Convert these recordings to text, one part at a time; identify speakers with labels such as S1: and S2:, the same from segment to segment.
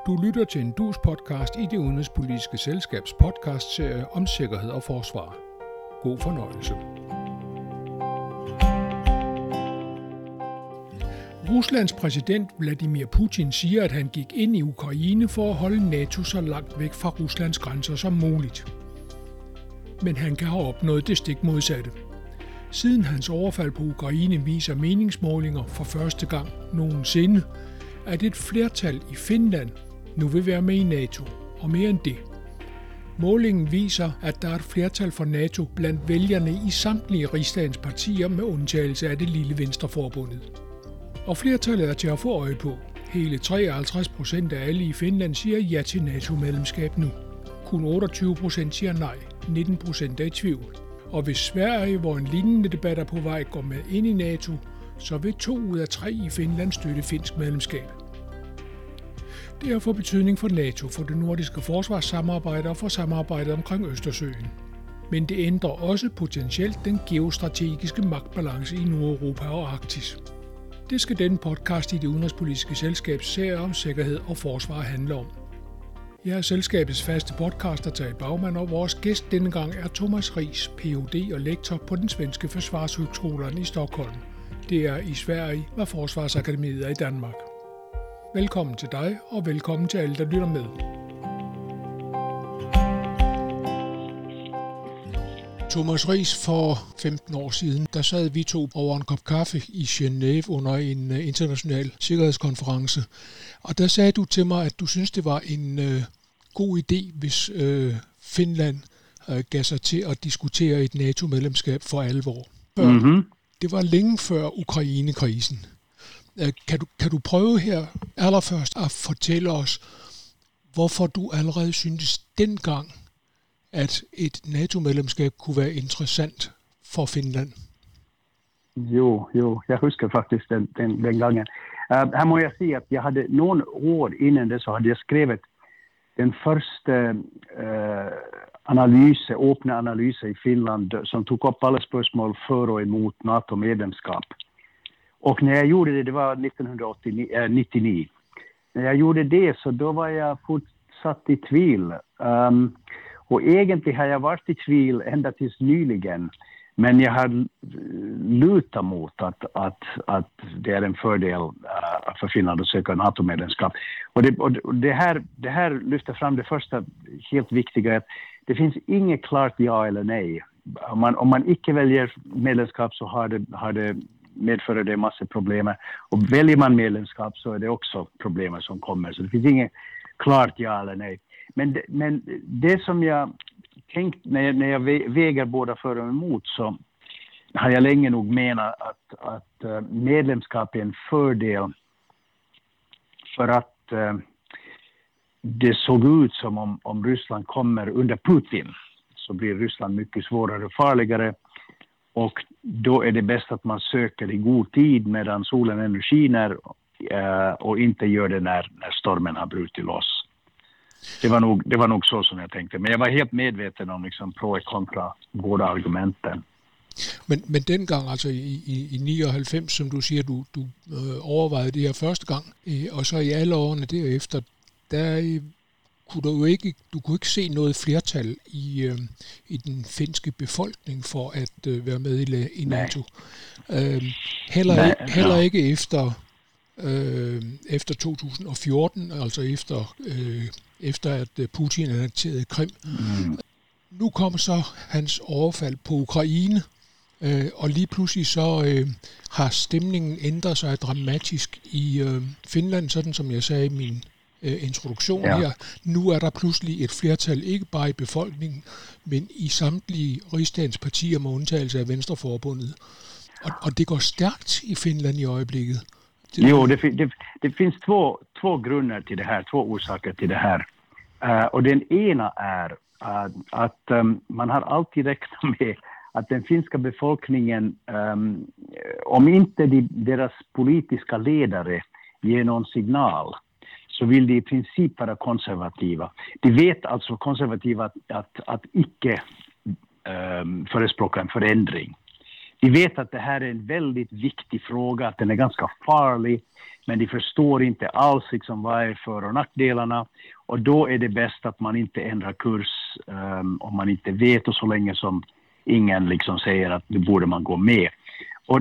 S1: Du lytter til en Dus-podcast i Det Udenrigspolitiske Selskabs podcastserie om sikkerhed og forsvar. God fornøjelse. Ruslands præsident Vladimir Putin siger, at han gik ind i Ukraine for at holde NATO så langt væk fra Ruslands grænser som muligt. Men han kan have opnået det stik modsatte. Siden hans overfald på Ukraine viser meningsmålinger for første gang nogensinde, at et flertal i Finland nu vil være med i NATO, og mere end det. Målingen viser, at der er et flertal for NATO blandt vælgerne i samtlige rigsdagens partier med undtagelse af det lille Venstreforbundet. Og flertallet er til at få øje på. Hele 53% af alle i Finland siger ja til NATO-medlemskab nu. Kun 28% siger nej, 19% er i tvivl. Og hvis Sverige, hvor en lignende debat er på vej, går med ind i NATO, så vil 2 ud af 3 i Finland støtte finsk medlemskab. Det har fået betydning for NATO, for det nordiske forsvarssamarbejde og for samarbejdet omkring Østersøen. Men det ændrer også potentielt den geostrategiske magtbalance i Nordeuropa og Arktis. Det skal denne podcast i Det Udenrigspolitiske Selskabs serie om sikkerhed og forsvar handle om. Jeg er selskabets faste podcaster Tage Bagman, og vores gæst denne gang er Thomas Riis, Ph.D. og lektor på den svenske Försvarshögskolan i Stockholm. Det er i Sverige, hvad Forsvarsakademiet er i Danmark. Velkommen til dig, og velkommen til alle, der lytter med. Thomas Riis, for 15 år siden, der sad vi to over en kop kaffe i Genève under en international sikkerhedskonference. Og der sagde du til mig, at du synes, det var en god idé, hvis Finland gav sig til at diskutere et NATO-medlemskab for alvor. Det var længe før Ukraine-krisen. Kan du prøve her allerførst at fortælle os, hvorfor du allerede syntes dengang, at et NATO-medlemskab kunne være interessant for Finland?
S2: Jo, jag huskar faktiskt den gången. Här må jag säga att jag hade någon år innan det så hade jag skrivit den första öppna analysen i Finland som tog upp alla spörsmål för och emot NATO-medlemskap. Och när jag gjorde det var 1999. När jag gjorde det så då var jag fortsatt i tvivel. Och egentligen har jag varit i tvivel ända tills nyligen. Men jag har lutat mot att det är en fördel för Finland att söka NATO-medlemskap. Och det här lyfter fram det första helt viktiga, att det finns inget klart ja eller nej. Om man inte väljer medlemskap så har det medför det massa problem. Och väljer man medlemskap så är det också problem som kommer. Så det finns inget klart ja eller nej. Men det som jag tänkt när jag väger båda för och emot, så har jag länge nog menat att medlemskap är en fördel för att det såg ut som om Ryssland kommer under Putin så blir Ryssland mycket svårare och farligare. Och då är det bäst att man söker i god tid medan solen ännu skiner och inte gör det när stormen har brutit loss. Det var nog så som jag tänkte. Men jag var helt medveten om liksom pro och kontra båda argumenten.
S1: Men dengang, altså i 99, som du siger, du overvejede det her første gang, og så i alle årene derefter, der kunne du kunne ikke se noget flertal i den finske befolkning for at være med i NATO. Heller ikke efter 2014, altså efter at Putin annekterede Krim. Nu kommer så hans overfald på Ukraine, og lige pludselig så har stemningen ændret sig dramatisk i Finland, sådan som jeg sagde i min introduktion her. Nu er der pludselig et flertal, ikke bare i befolkningen, men i samtlige rigsdagens partier med undtagelse af Venstreforbundet. Og det går stærkt i Finland i øjeblikket.
S2: Det finns två grunder till det här, två orsaker till det här. Och den ena är att man har alltid räknat med att den finska befolkningen, om inte deras politiska ledare ger någon signal, så vill de i princip vara konservativa. De vet alltså konservativa att icke förespråka en förändring. De vet att det här är en väldigt viktig fråga, att den är ganska farlig, men de förstår inte alls liksom vad är för- och nackdelarna. Och då är det bäst att man inte ändrar kurs om man inte vet, och så länge som ingen liksom säger att nu borde man gå med. Och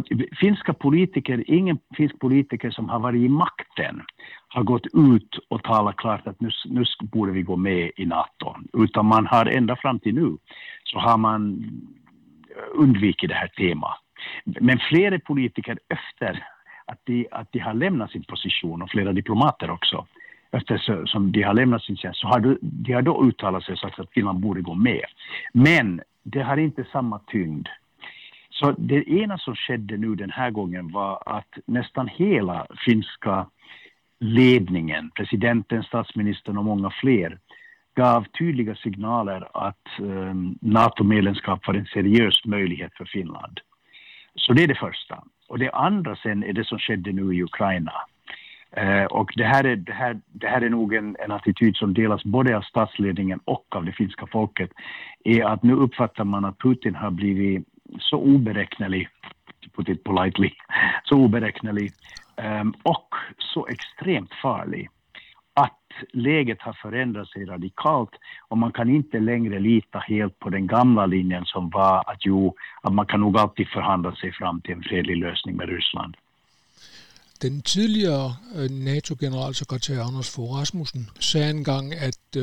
S2: ingen finsk politiker som har varit i makten har gått ut och talat klart att nu borde vi gå med i NATO. Utan man har ända fram till nu så har man undvikit det här temat. Men flera politiker efter att de har lämnat sin position, och flera diplomater också, eftersom de har lämnat sin tjänst, så har de har då uttalat sig och sagt att Finland borde gå med. Men det har inte samma tyngd. Så det ena som skedde nu den här gången var att nästan hela finska ledningen, presidenten, statsministern och många fler, gav tydliga signaler att NATO-medlemskap var en seriös möjlighet för Finland. Så det är det första. Och det andra sen är det som skedde nu i Ukraina. Och det här är nog en attityd som delas både av statsledningen och av det finska folket, är att nu uppfattar man att Putin har blivit så oberäknelig, to put it politely, så oberäknelig och så extremt farlig att läget har förändrat sig radikalt, och man kan inte längre lita helt på den gamla linjen som var att man kan nog alltid förhandla sig fram till en fredlig lösning med Ryssland.
S1: Den tidligere NATO-generalsekretær Anders Fogh Rasmussen sagde engang,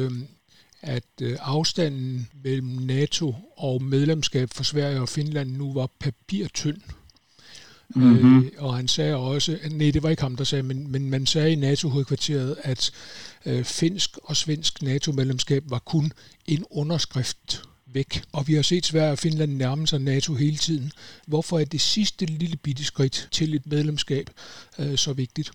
S1: at afstanden mellem NATO og medlemskab for Sverige og Finland nu var papirtynd. Mm-hmm. Og han sagde også, nej, det var ikke ham, der sagde, men man sagde i NATO-hovedkvarteret, at finsk og svensk NATO-medlemskab var kun en underskrift væk. Og vi har set Sverige og Finland nærme sig NATO hele tiden. Hvorfor er det sidste lille bitte skridt til et medlemskab så vigtigt?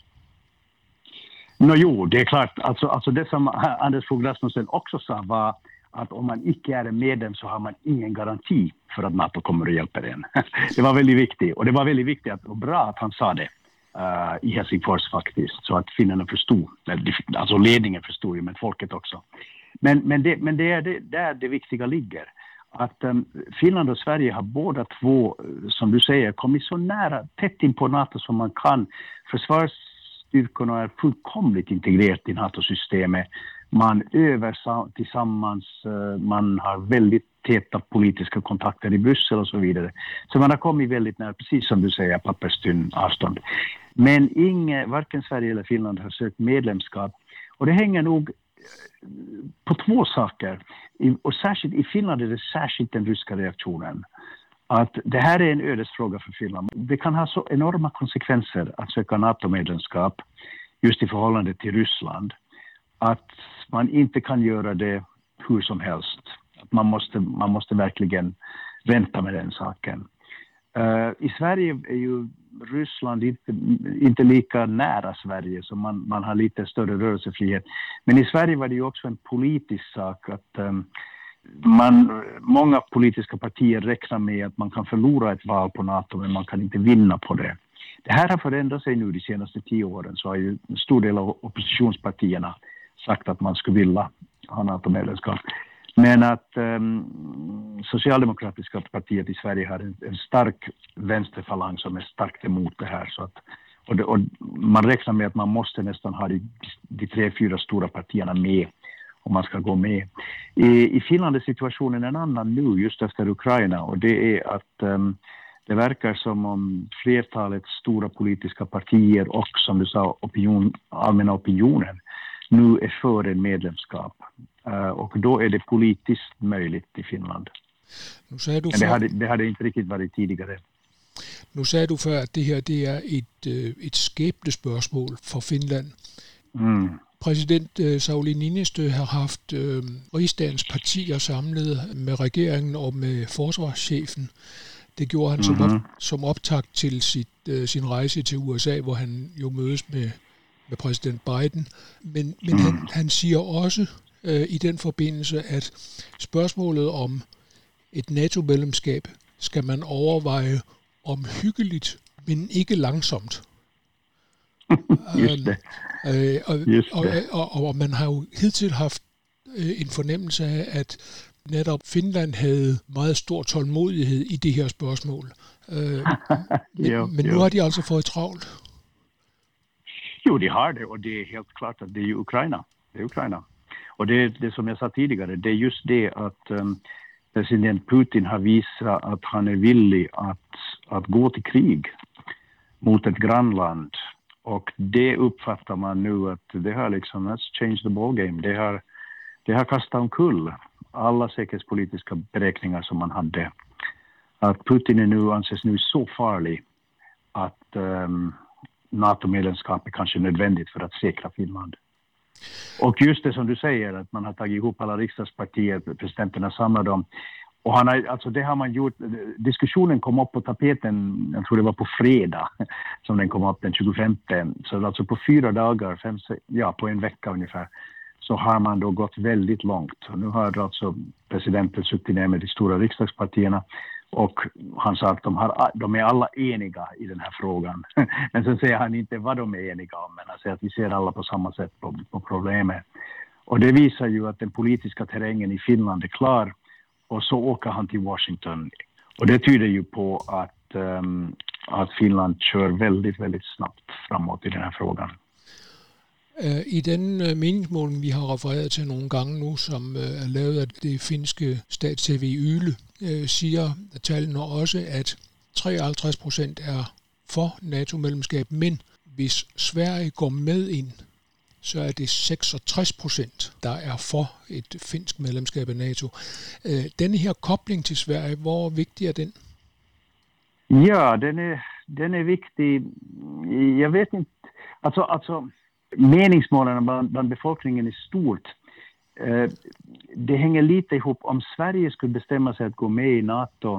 S2: Jo, det är klart. Alltså det som Anders Fogh Rasmussen också sa var att om man inte är medlem så har man ingen garanti för att NATO kommer att hjälpa en. Det var väldigt viktigt. Och det var väldigt viktigt och bra att han sa det i Helsingfors faktiskt. Så att finnarna förstod. Alltså ledningen förstod ju, men folket också. Men det är där det viktiga ligger. Att Finland och Sverige har båda två, som du säger, kommit så nära, tätt in på NATO som man kan. Försvarsstyrkorna är fullkomligt integrerat i NATO-systemet. Man övar tillsammans, man har väldigt täta politiska kontakter i Bryssel och så vidare. Så man har kommit väldigt nära, precis som du säger, papperstynn avstånd. Men varken Sverige eller Finland har sökt medlemskap. Och det hänger nog på två saker. Och särskilt i Finland är det särskilt den ryska reaktionen. Att det här är en ödesfråga för Finland. Det kan ha så enorma konsekvenser att söka NATO-medlemskap just i förhållande till Ryssland. Att man inte kan göra det hur som helst. Att man måste verkligen vänta med den saken. I Sverige är ju Ryssland inte lika nära Sverige, så man har lite större rörelsefrihet. Men i Sverige var det ju också en politisk sak att många politiska partier räknar med att man kan förlora ett val på NATO, men man kan inte vinna på det. Det här har förändrat sig nu de senaste 10 åren, så har ju en stor del av oppositionspartierna sagt att man skulle vilja ha NATO-medlemskap. Men att socialdemokratiska partiet i Sverige har en stark vänsterfalang som är starkt emot det här. Så att, och man räknar med att man måste nästan ha de 3-4 stora partierna med om man ska gå med. I Finland är situationen en annan nu just efter Ukraina, och det är att det verkar som om flertalet stora politiska partier och, som du sa, allmänna opinionen nu är för en medlemskap. Och då är det politiskt möjligt i Finland.
S1: Nu sagde du
S2: det hade inte riktigt varit tidigare.
S1: Nu sagde du før, at det her det er et skæbnespørgsmål for Finland.
S2: Mm.
S1: Præsident Sauli Niinistö har haft rigsdagens partier samlet med regeringen og med forsvarschefen. Det gjorde han som optakt til sin rejse til USA, hvor han jo mødes med præsident Biden. Men han siger også i den forbindelse, at spørgsmålet om et NATO-medlemskab skal man overveje omhyggeligt, men ikke langsomt.
S2: Just det.
S1: Og man har jo hidtil haft en fornemmelse af, at netop Finland havde meget stor tålmodighed i det her spørgsmål. Men nu har de altså fået travlt.
S2: Jo, de har det, och det är helt klart att det är Ukraina. Det är Ukraina. Och det som jag sa tidigare, det är just det att president Putin har visat att han är villig att gå till krig mot ett grannland. Och det uppfattar man nu att det har liksom, let's change the ball game. Det har kastat omkull alla säkerhetspolitiska beräkningar som man hade. Att Putin anses nu så farlig att NATO-medlemskap är kanske nödvändigt för att säkra Finland. Och just det som du säger, att man har tagit ihop alla riksdagspartier, presidenterna samlar dem. Och det har man gjort, diskussionen kom upp på tapeten, jag tror det var på fredag som den kom upp den 25. Så alltså på 4 dagar, på en vecka ungefär, så har man då gått väldigt långt. Och nu har alltså presidenten suttit ner med de stora riksdagspartierna och han sa att de är alla eniga i den här frågan. Men så säger han inte vad de är eniga om, men han säger att vi ser alla på samma sätt på problemet. Och det visar ju att den politiska terrängen i Finland är klar. Och så åker han till Washington. Och det tyder ju på att Finland kör väldigt, väldigt snabbt framåt i den här frågan.
S1: I den meningsmåling, vi har refereret til nogle gange nu, som er lavet af det finske stats-TV Yle, siger tallene også, at 53% er for NATO-medlemskab, men hvis Sverige går med ind, så er det 66%, der er for et finsk medlemskab af NATO. Denne her kobling til Sverige, hvor vigtig er den?
S2: Ja, den är viktig. Jag vet inte. Alltså meningsmålen bland befolkningen i stort, det hänger lite ihop. Om Sverige skulle bestämma sig att gå med i NATO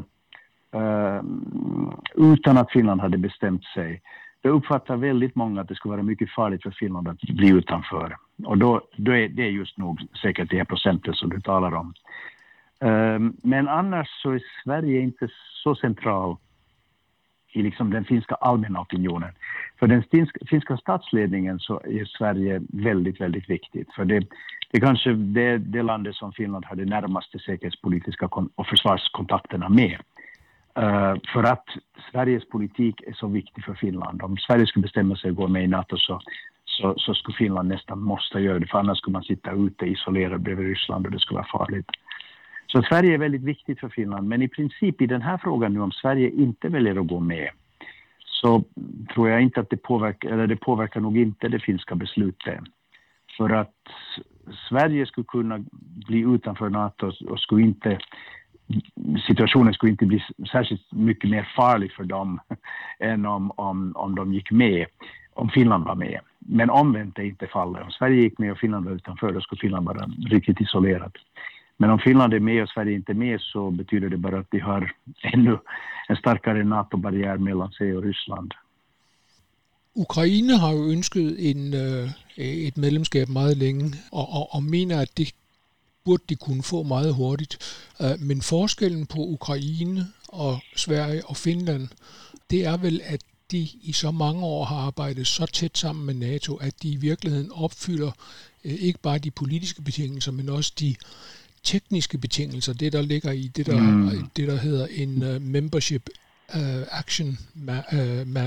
S2: utan att Finland hade bestämt sig, då uppfattar väldigt många att det skulle vara mycket farligt för Finland att bli utanför. Och då är det just nog säkert det här procenten som du talar om. Men annars så är Sverige inte så central i liksom den finska allmänna opinionen. För den finska statsledningen så är Sverige väldigt, väldigt viktigt. För det är kanske det landet som Finland har de närmaste säkerhetspolitiska och försvarskontakterna med. För att Sveriges politik är så viktig för Finland. Om Sverige skulle bestämma sig att gå med i NATO så skulle Finland nästan måste göra det. För annars skulle man sitta ute isolerad bredvid Ryssland och det skulle vara farligt. Så Sverige är väldigt viktigt för Finland. Men i princip i den här frågan nu, om Sverige inte väljer att gå med, så tror jag inte att det påverkar nog inte det finska beslutet. För att Sverige skulle kunna bli utanför NATO och situationen skulle inte bli särskilt mycket mer farlig för dem än om de gick med, om Finland var med. Men omvänt är inte fallet. Om Sverige gick med och Finland var utanför, då skulle Finland vara riktigt isolerat. Men om Finland är med och Sverige inte är med, så betyder det bara att de har ännu en starkare NATO-barriär mellan sig och Ryssland.
S1: Ukraine har jo ønsket et medlemskab meget længe, og mener, at det burde de kunne få meget hurtigt. Men forskellen på Ukraine og Sverige og Finland, det er vel, at de i så mange år har arbejdet så tæt sammen med NATO, at de i virkeligheden opfylder ikke bare de politiske betingelser, men også de tekniske betingelser, det der ligger i det der hedder en membership action map.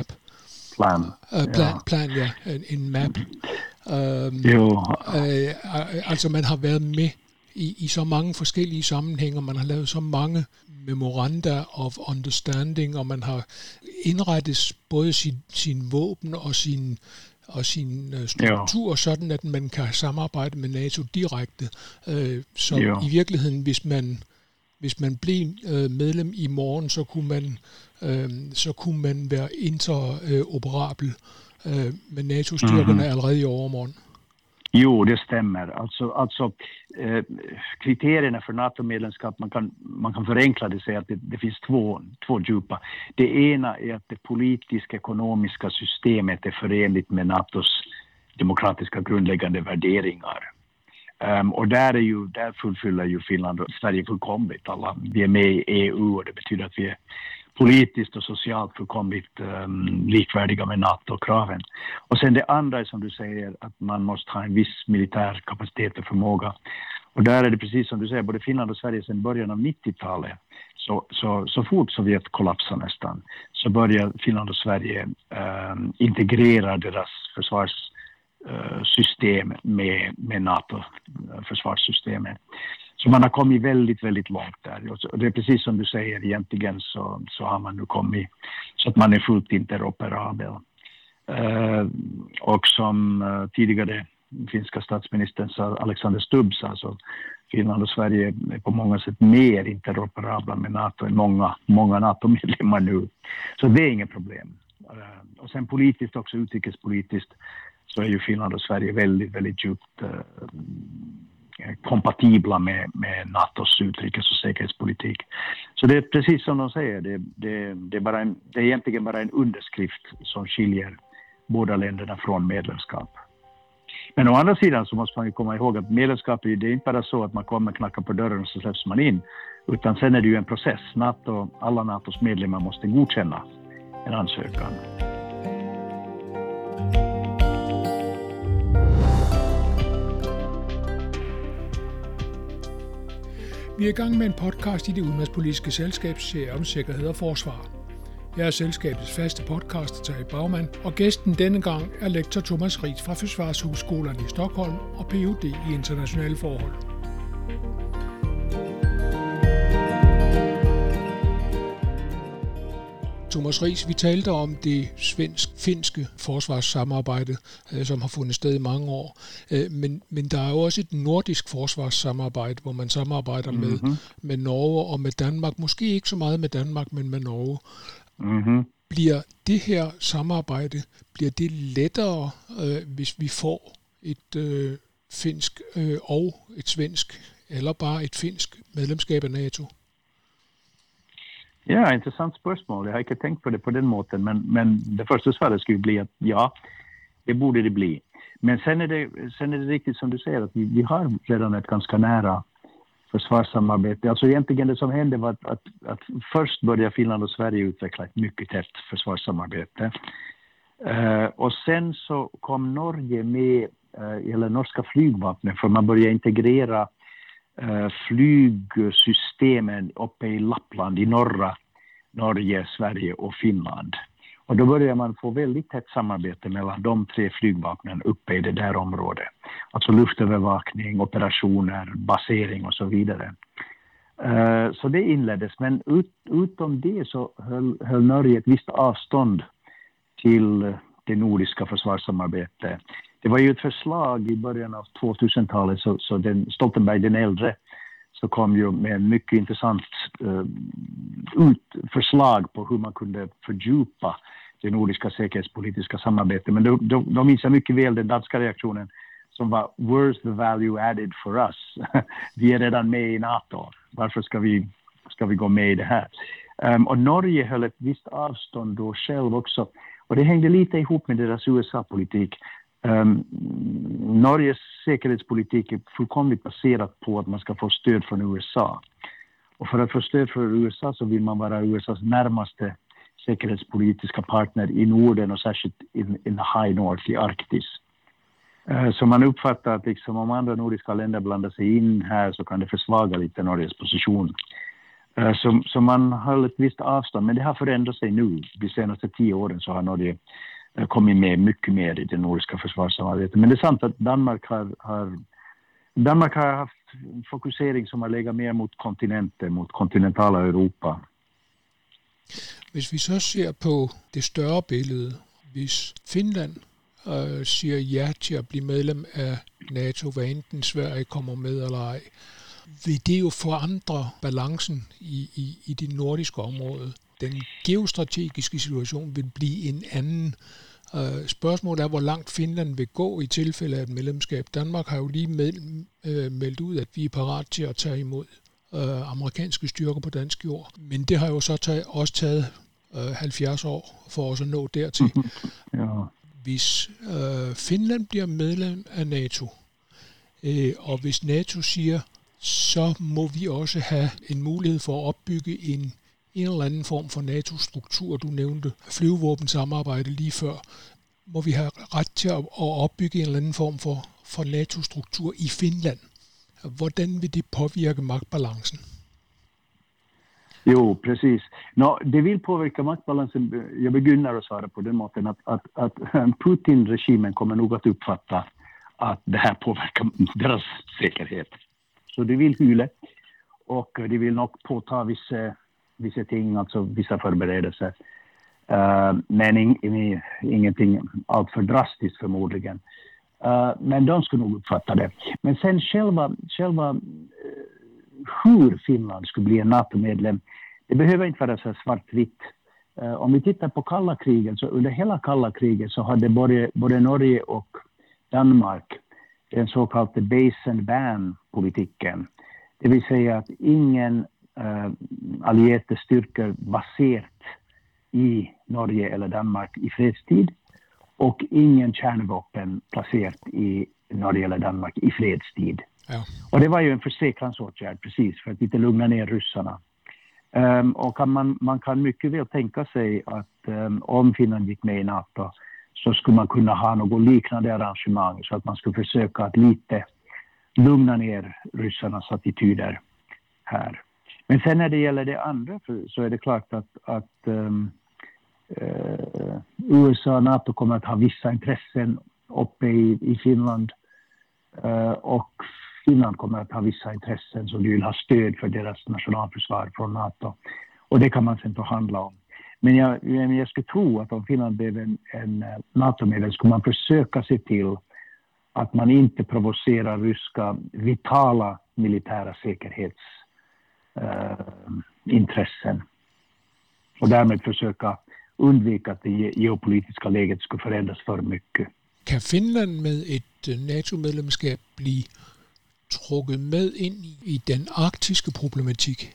S1: Plan, ja, en map. Altså man har været med i så mange forskellige sammenhænge, man har lavet så mange memoranda of understanding, og man har indrettet både sin våben og sin struktur, sådan at man kan samarbejde med NATO direkte. Så i virkeligheden, hvis man blev medlem i morgen, så kunne man være interoperabel med NATO-styrkerne allerede i overmorgen.
S2: Jo, det stämmer. Alltså kriterierna för NATO-medlemskap, man kan förenkla det och säga att det finns två djupa. Det ena är att det politiska ekonomiska systemet är förenligt med NATOs demokratiska grundläggande värderingar. Och där fullfyller ju Finland och Sverige fullkomligt. Vi är med i EU och det betyder att vi är politiskt och socialt fullkomligt likvärdiga med NATO-kraven. Och sen det andra är som du säger att man måste ha en viss militär kapacitet och förmåga. Och där är det precis som du säger, både Finland och Sverige sedan början av 90-talet, så fort Sovjet kollapsar nästan, så börjar Finland och Sverige integrera deras försvarssystem med NATO-försvarssystemet. Så man har kommit väldigt, väldigt långt där. Och det är precis som du säger, egentligen så har man nu kommit så att man är fullt interoperabel. Och som tidigare finska statsministern Alexander Stubb sa, så Finland och Sverige är på många sätt mer interoperabla med NATO än många NATO-medlemmar nu. Så det är inget problem. Och sen politiskt också, utrikespolitiskt, så är ju Finland och Sverige väldigt, väldigt djupt kompatibla med NATOs utrikes- och säkerhetspolitik. Så det är precis som de säger, det är egentligen bara en underskrift som skiljer båda länderna från medlemskap. Men å andra sidan så måste man ju komma ihåg att medlemskap det är inte bara så att man kommer knacka på dörren och så släpps man in, utan sen är det ju en process. Alla NATOs medlemmar måste godkänna en ansökan.
S1: Vi er i gang med en podcast i det udenrigspolitiske selskabs serie om sikkerhed og forsvar. Jeg er selskabets faste podcaster, Terje Bagman, og gæsten denne gang er lektor Thomas Riis fra Försvarshögskolan i Stockholm og Ph.D. i internationale forhold. Thomas Riis, vi talte om det svensk-finske forsvarssamarbejde, som har fundet sted i mange år. Men der er jo også et nordisk forsvarssamarbejde, hvor man samarbejder med Norge og med Danmark. Måske ikke så meget med Danmark, men med Norge. Mm-hmm. Bliver det her samarbejde, bliver det lettere, hvis vi får et finsk og et svensk, eller bare et finsk medlemskab af NATO?
S2: Ja, intressant spørgsmål. Jeg har ikke tänkt på det på den måten, men det första svaret skulle bli att ja, det borde det bli. Men sen är det riktigt som du säger att vi har redan ett ganska nära försvarssamarbete. Alltså egentligen det som hände var att först började Finland och Sverige utveckla ett mycket tätt försvarssamarbete. Och sen så kom Norge med, eller norska flygvapnet, för man började integrera flygsystemen uppe i Lappland i norra Norge, Sverige och Finland. Och då börjar man få väldigt tätt samarbete mellan de tre flygvapnen uppe i det där området. Alltså luftövervakning, operationer, basering och så vidare. Så det inleddes, men utom det så höll Norge ett visst avstånd till det nordiska försvarssamarbetet. Det var ju ett förslag i början av 2000-talet, så Stoltenberg den äldre så kom ju med en mycket intressant förslag på hur man kunde fördjupa det nordiska säkerhetspolitiska samarbetet. Men då minns jag mycket väl den danska reaktionen som var "Where's the value added for us?" Vi är redan med i NATO. Varför ska vi gå med i det här? Och Norge höll ett visst avstånd då själv också. Och det hängde lite ihop med deras USA-politik. Norges säkerhetspolitik är fullkomligt baserat på att man ska få stöd från USA. Och för att få stöd från USA så vill man vara USAs närmaste säkerhetspolitiska partner i Norden och särskilt in the high north i Arktis. Så man uppfattar att liksom om andra nordiska länder blandar sig in här så kan det försvaga lite Norges position. Så man höll ett visst avstånd, men det har förändrat sig nu. De senaste 10 åren så har Norge kommit med mycket mer i det nordiska försvarssamarbetet. Men det är sant att Danmark har haft en fokusering som har legat mer mot kontinenter, mot kontinentala Europa.
S1: Hvis vi så ser på det større billede, hvis Finland siger ja til at blive medlem af NATO, hvad enten Sverige kommer med eller ej, vil det jo forandre balancen i det nordiske område. Den geostrategiske situation vil blive en anden. Spørgsmålet er, hvor langt Finland vil gå i tilfælde af et medlemskab. Danmark har jo lige meldt ud, at vi er parat til at tage imod amerikanske styrker på dansk jord. Men det har jo så også taget 70 år for os at nå dertil. Ja. Hvis Finland bliver medlem af NATO, og hvis NATO siger, så må vi også have en mulighed for at opbygge en eller anden form for NATO-struktur. Du nævnte flyvevåbensamarbejde lige før. Må vi have ret til at opbygge en eller anden form for NATO-struktur i Finland? Hvordan vil det påvirke magtbalancen?
S2: Jo, precis. Det vill påverka maktbalansen. Jag begynner att svara på den måten att Putin-regimen kommer nog att uppfatta att det här påverkar deras säkerhet. Så de vill hyla och de vill nog påta vissa ting, alltså vissa förberedelser. Men ingenting allt för drastiskt förmodligen. Men de skulle nog uppfatta det. Men sen själva hur Finland skulle bli en NATO-medlem, det behöver inte vara så svartvitt. Om vi tittar på kalla kriget, så under hela kalla kriget så hade både Norge och Danmark den så kallade base and ban-politiken. Det vill säga att ingen allierade styrkor baserat i Norge eller Danmark i fredstid och ingen kärnvapen placerat i Norge eller Danmark i fredstid.
S1: Ja.
S2: Och det var ju en försäkransåtgärd precis för att inte lugna ner ryssarna. Och man kan mycket väl tänka sig att om Finland gick med i NATO så skulle man kunna ha något liknande arrangemang så att man skulle försöka att lite lugna ner ryssarnas attityder här. Men sen när det gäller det andra så är det klart att USA och NATO kommer att ha vissa intressen uppe i Finland och Finland kommer att ha vissa intressen som de vill ha stöd för deras nationalförsvar från NATO. Och det kan man sen förhandla om. Men jag skulle tro att om Finland blev en NATO-medlem skulle man försöka se till att man inte provocerar ryska vitala militära säkerhetsintressen. Och därmed försöka undvika att det geopolitiska läget skulle förändras för mycket.
S1: Kan Finland med ett NATO-medlemskab bli trukket med in i den arktiska problematik?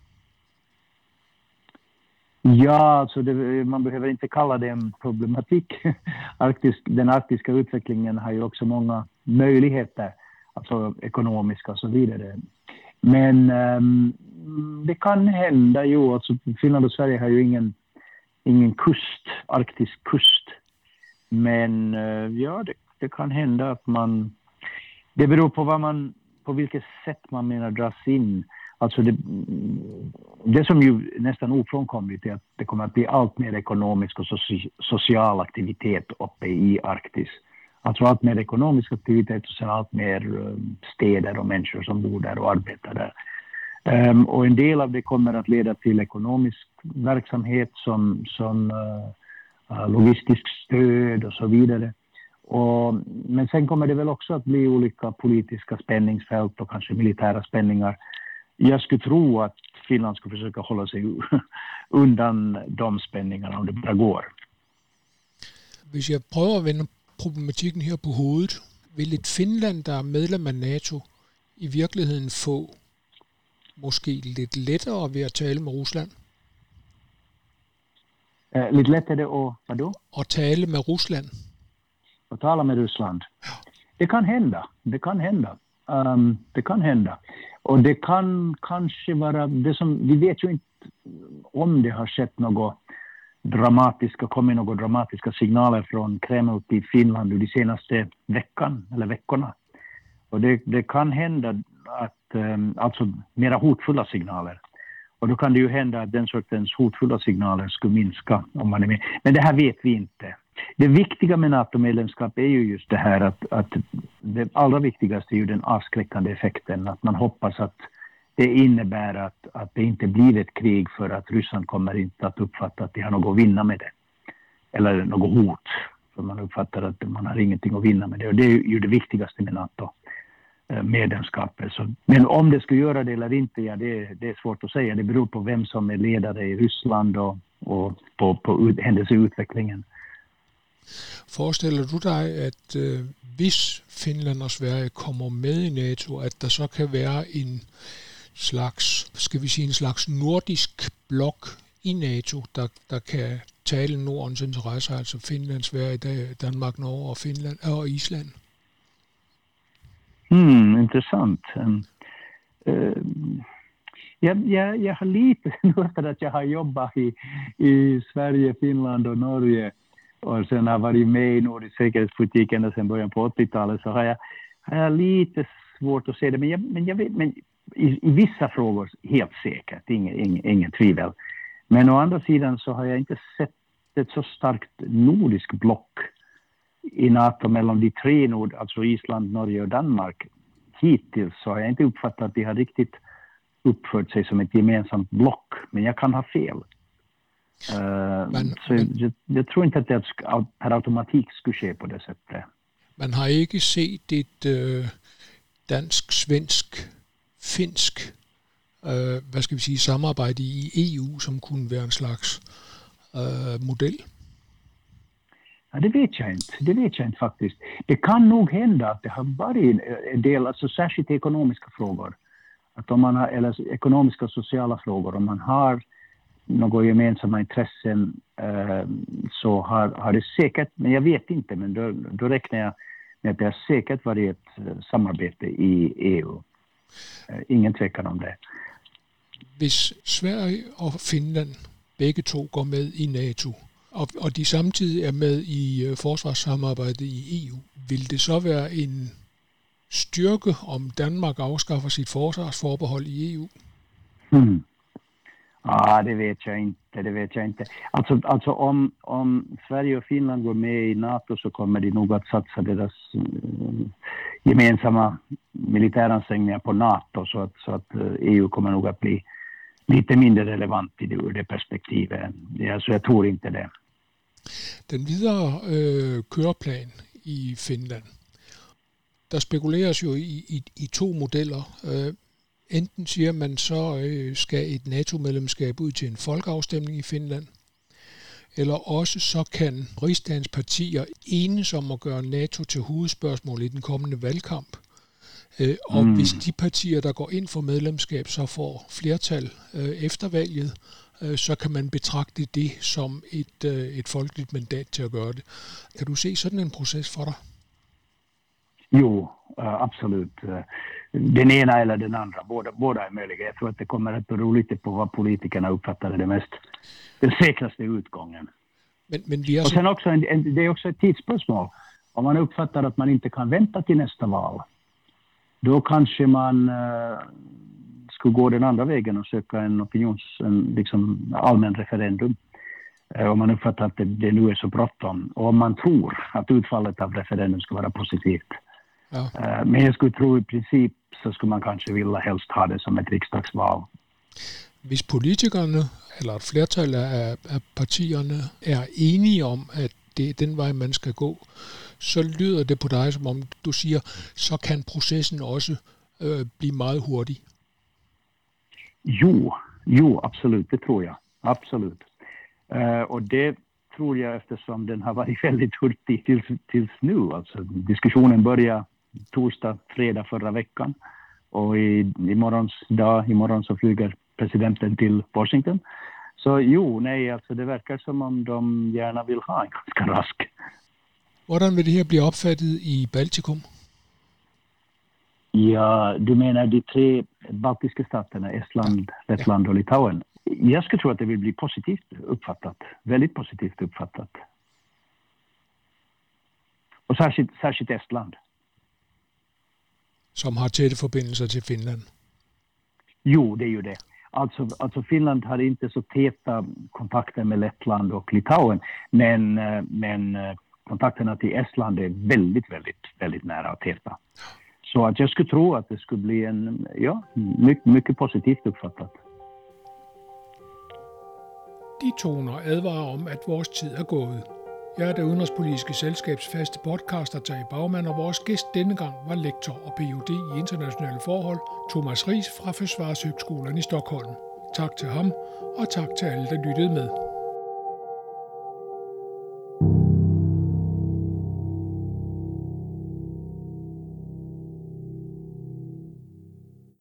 S2: Ja, alltså man behöver inte kalla det en problematik. Den arktiska utvecklingen har ju också många möjligheter, alltså ekonomiska och så vidare. Men det kan hända ju, alltså Finland och Sverige har ju ingen arktisk kust. Men ja, det kan hända att det beror på vilket sätt man menar dras in. Alltså det som ju nästan ofrånkomligt är att det kommer att bli allt mer ekonomisk och social aktivitet uppe i Arktis. Alltså allt mer ekonomisk aktivitet och sen allt mer städer och människor som bor där och arbetar där. Och en del av det kommer att leda till ekonomisk verksamhet som logistisk stöd och så vidare. Men sen kommer det väl också att bli olika politiska spänningsfält och kanske militära spänningar. Jag skulle tro att Finland skulle försöka hålla sig undan de spänningarna om det bara går.
S1: Hvis jeg prøver at vende problematikken her på hovedet, vil et Finland, der er medlem af NATO, i virkeligheden få måske lidt lettere ved at tale med Rusland?
S2: Lidt lättare och vadå?
S1: At tale med Rusland.
S2: Att tala med Ryssland. Det kan hända. Det kan hända. Och det kan kanske vara det som vi vet ju inte om det har skett kommit några dramatiska signaler från Kreml till Finland de senaste veckorna. Och det kan hända att alltså mera hotfulla signaler. Och då kan det ju hända att den sortens hotfulla signaler skulle minska om man är med. Men det här vet vi inte. Det viktiga med NATO-medlemskap är ju just det här att det allra viktigaste är ju den avskräckande effekten. Att man hoppas att det innebär att det inte blir ett krig för att Ryssland kommer inte att uppfatta att de har något att vinna med det. Eller något hot. För man uppfattar att man har ingenting att vinna med det. Och det är ju det viktigaste med NATO-medlemskapet. Men om det skulle göra det eller inte, ja, det är svårt att säga. Det beror på vem som är ledare i Ryssland och på händelseutvecklingen.
S1: Forestiller du dig, at hvis Finland og Sverige kommer med i NATO, at der så kan være en slags nordisk blok i NATO, der kan tale Nordens interesser, altså Finland, Sverige, Danmark, Norge og Finland og Island?
S2: Intressant. Jag har lite efter att jag har jobbat i Sverige, Finland och Norge och sen har varit med i nordisk säkerhetspolitik ända sedan början på 80-talet, så har jag lite svårt att se det, men jag vet, men i vissa frågor helt säkert, ingen tvivel. Men å andra sidan så har jag inte sett ett så starkt nordisk block i NATO mellan de tre alltså Island, Norge och Danmark. Hittills så har jag inte uppfattat att de har riktigt uppfört sig som ett gemensamt block, men jag kan ha fel. Jag tror inte att det per automatik skulle ske på det sättet.
S1: Man har ikke set et dansk, svensk, finsk samarbejde i EU, som kunne være en slags modell?
S2: Ja, det vet jag inte faktiskt. Det kan nog hända att det har varit en del, alltså särskilt ekonomiska frågor. Att om man har, eller ekonomiska och sociala frågor, om man har några gemensamma intressen så har det säkert, men jag vet inte, men då räknar jag med att det har säkert varit ett samarbete i EU. Ingen tvekan om det.
S1: Hvis Sverige og Finland begge to går med i NATO, og de samtidig er med i forsvarssamarbejdet i EU, vil det så være en styrke, om Danmark afskaffer sit forsvarsforbehold i EU?
S2: Det vet jag inte. Alltså om Sverige och Finland går med i NATO så kommer de nog att satsa deras gemensamma militäransträngningar på NATO så att EU kommer nog att bli lite mindre relevant ur det perspektivet. Så jag tror inte det.
S1: Den videre køreplan i Finland, der spekuleres jo i to modeller. Enten siger man, så skal et NATO-medlemskab ud til en folkeafstemning i Finland, eller også så kan rigsdagens partier enes om at gøre NATO til hovedspørgsmål i den kommende valgkamp. Og hvis de partier, der går ind for medlemskab, så får flertal efter valget, så kan man betragte det som et folkeligt mandat til at gøre det. Kan du se sådan en proces for dig?
S2: Jo, absolut. Den ena eller den andra, båda är möjliga. Jag tror att det kommer att bero lite på vad politikerna uppfattar den säkraste utgången.
S1: Men vi har
S2: och sen också det är också ett tidsspörsmål. Om man uppfattar att man inte kan vänta till nästa val, då kanske man skulle gå den andra vägen och söka en liksom allmän referendum. Om man uppfattar att det nu är så bråttom. Och om man tror att utfallet av referendum ska vara positivt. Ja. Men jag skulle tro i princip så skulle man kanske vilja helst ha det som ett riksdagsval.
S1: Hvis politikerne, eller et flertal af partierne, er enige om, at det er den vej, man skal gå, så lyder det på dig, som om du siger, så kan processen også blive meget hurtig.
S2: Jo, absolut, det tror jag. Absolut. Och det tror jag eftersom den har varit väldigt hurtig tills nu. Alltså, diskussionen började torsdag, fredag förra veckan. Och imorgon så flyger presidenten till Washington. Så alltså det verkar som om de gärna vill ha en ganska rask.
S1: Hvordan vil det her blive opfattet i Baltikum?
S2: Ja, du menar de tre baltiska staterna, Estland, Lettland och Litauen. Jag skulle tro att det vill bli positivt uppfattat. Väldigt positivt uppfattat. Och särskilt Estland.
S1: Som har tætte forbindelser till Finland.
S2: Jo, det är ju det. Alltså Finland har inte så täta kontakter med Lettland och Litauen. Men kontakterna till Estland är väldigt, väldigt, väldigt nära och täta. Så att jag skulle tro att det skulle bli mycket, mycket positivt uppfattat.
S1: De toner advarer om, at vores tid er gået. Jeg er det udenrigspolitiske selskabs faste podcaster, Terje Bagman, og vores gæst denne gang var lektor og Ph.D. i internationale forhold, Thomas Riis fra Försvarshögskolan i Stockholm. Tak til ham, og tak til alle, der lyttede med.